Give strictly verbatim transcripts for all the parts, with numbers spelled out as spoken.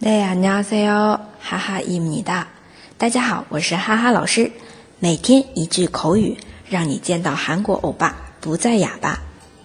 네, 안녕하세요. 하하입니다.大家好，我是哈哈老师。每天一句口语，让你见到韩国欧巴不再哑巴。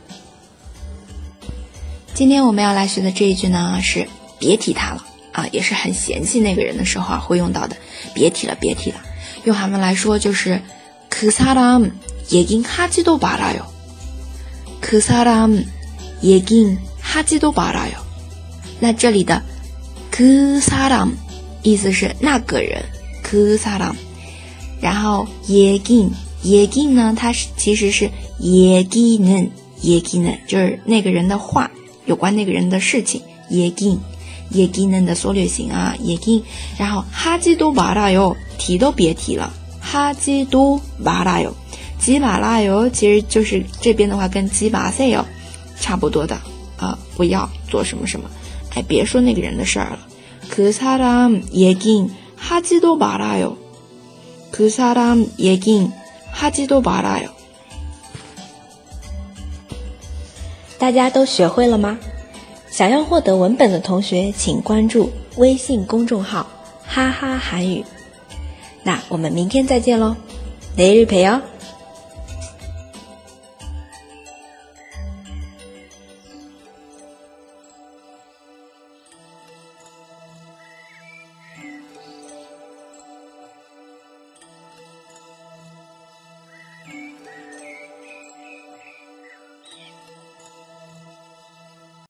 今天我们要来学的这一句呢，是别提他了啊，也是很嫌弃那个人的时候啊会用到的。别提了，别提了。用韩文来说就是그 사람 얘긴 하지도 말아요. 그 사람 얘긴 하지도 말아요. 那这里的그 사람意思是那个人그 사람，然后얘긴 얘긴呢，它是其实是얘기는 얘기는就是那个人的话，有关那个人的事情。얘긴 얘기는的缩略型啊얘긴，然后하지도 말아요提都别提了하지도 말아요，지 말아요其实就是这边的话跟지 마세요差不多的啊，不要做什么什么，哎，别说那个人的事儿了。그 사람 얘긴 하지도 말아요. 그 사람 얘긴 하지도 말아요. 大家都学会了吗？想要获得文本的同学，请关注微信公众号哈哈韩语。那我们明天再见喽，내일 봬요。